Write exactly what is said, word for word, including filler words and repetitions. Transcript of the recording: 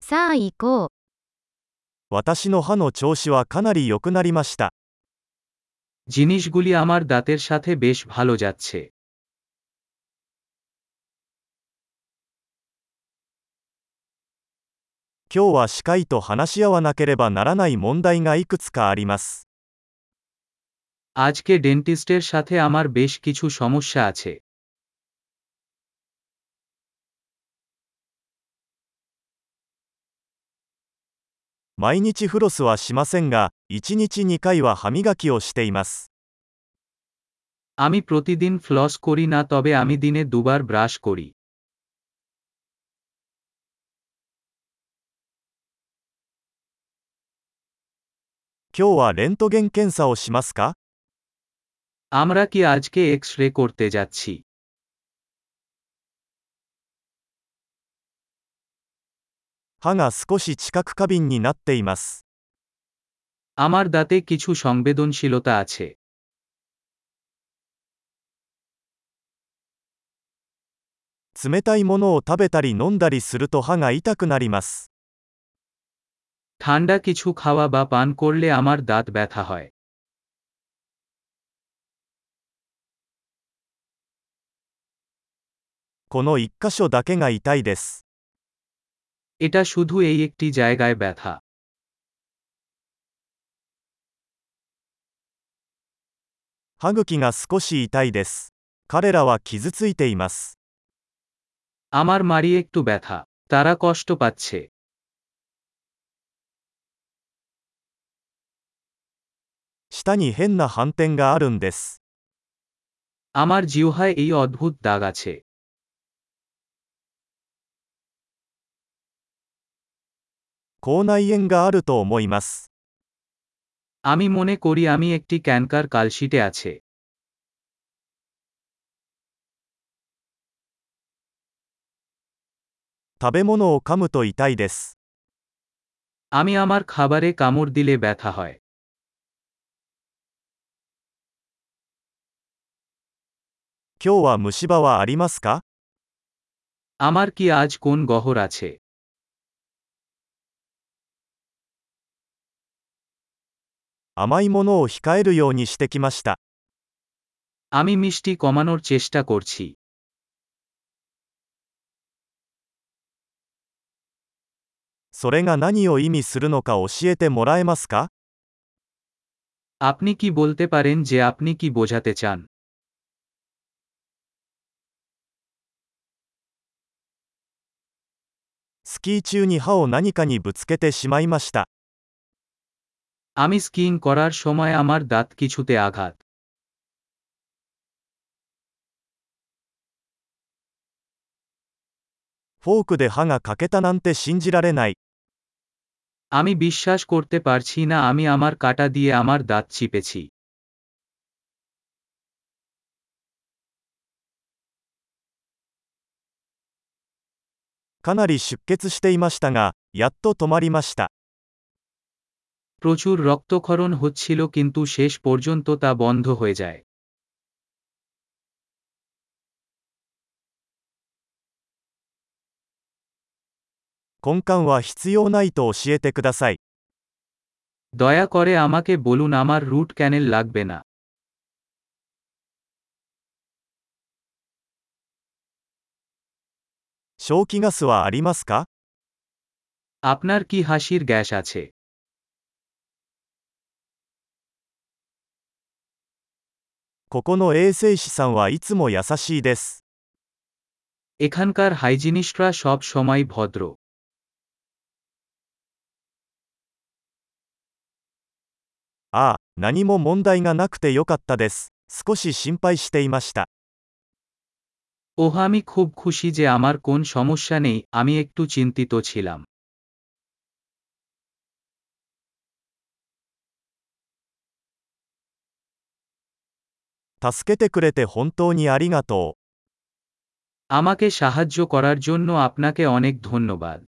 さあ行こう。 私の歯の調子はかなり良くなりました。 জিনিসগুলি আমার দাঁতের সাথে বেশ ভালো যাচ্ছে। 今日は歯科医と話し合わなければならない問題がいくつかあります。 আজকে ডেন্টিস্টের সাথে আমার বেশ কিছু সমস্যা আছে। 毎日フロスはしませんが、いちにちにかいは歯磨きをしています。 আমি প্রতিদিন ফ্লস করি না, তবে আমি দিনে দুবার ব্রাশ করি। 今日はレントゲン検査をしますか？ আমরা কি আজকে এক্স রে করতে যাচ্ছি? 歯が少し知覚過敏になっています。 আমার দাঁতে কিছু সংবেদনশীলতা আছে। 冷たいものを食べたり飲んだりすると歯が痛くなります。 ঠান্ডা কিছু খাওয়া বা পান করলে আমার দাঁত ব্যথা হয়। この一箇所だけが痛いです。 এটা শুধু এই একটি জায়গায় ব্যথা। 歯茎が少し痛いです。彼らは傷ついています。 আমার মাড়ি একটু ব্যথা। তারা কষ্ট পাচ্ছে। 舌に変な斑点があるんです。 আমার জিহ্বায় এই অদ্ভুত দাগ আছে। 口内炎があると思います。 আমি মনে করি আমি একটি ক্যানকার কালশিটে আছে। 食べ物を噛むと痛いです。 আমি আমার খাবারে কামড় দিলে ব্যথা হয়। 今日は虫歯はありますか？ আমার কি আজ কোন গহর আছে? 甘いものを控えるようにしてきました。 আমি মিষ্টি কমানোর চেষ্টা করছি। それが何を意味するのか教えてもらえますか？ আপনি কি বলতে পারেন যে আপনি কি বোঝাতে চান? スキー中に歯を何かにぶつけてしまいました。 আমি স্কিইং করার সময় আমার দাঁত কিছুতে আঘাত। フォークで歯が欠けたなんて信じられない。 আমি বিশ্বাস করতে পারছি না আমি আমার কাঁটা দিয়ে আমার দাঁত চিপেছি। かなり出血していましたが、やっと止まりました。 প্রচুর রক্তক্ষরণ হচ্ছিল, কিন্তু শেষ পর্যন্ত তা বন্ধ হয়ে যায়। 根幹は必要ないと教えてください。 দয়া করে আমাকে বলুন আমার রুট ক্যানেল লাগবে না। 笑気ガスはありますか？ আপনার কি হাসির গ্যাস আছে? ここの衛生士さんはいつも優しいです。 এখানকার হাইজিনিস্টরা সব সময় ভদ্র। ああ、何も問題がなくてよかったです。少し心配していました。 ওহ, আমি খুব খুশি যে আমার কোন সমস্যা নেই, আমি একটু চিন্তিত ছিলাম। 助けてくれて本当にありがとう。 আমাকে সাহায্য করার জন্য আপনাকে অনেক ধন্যবাদ।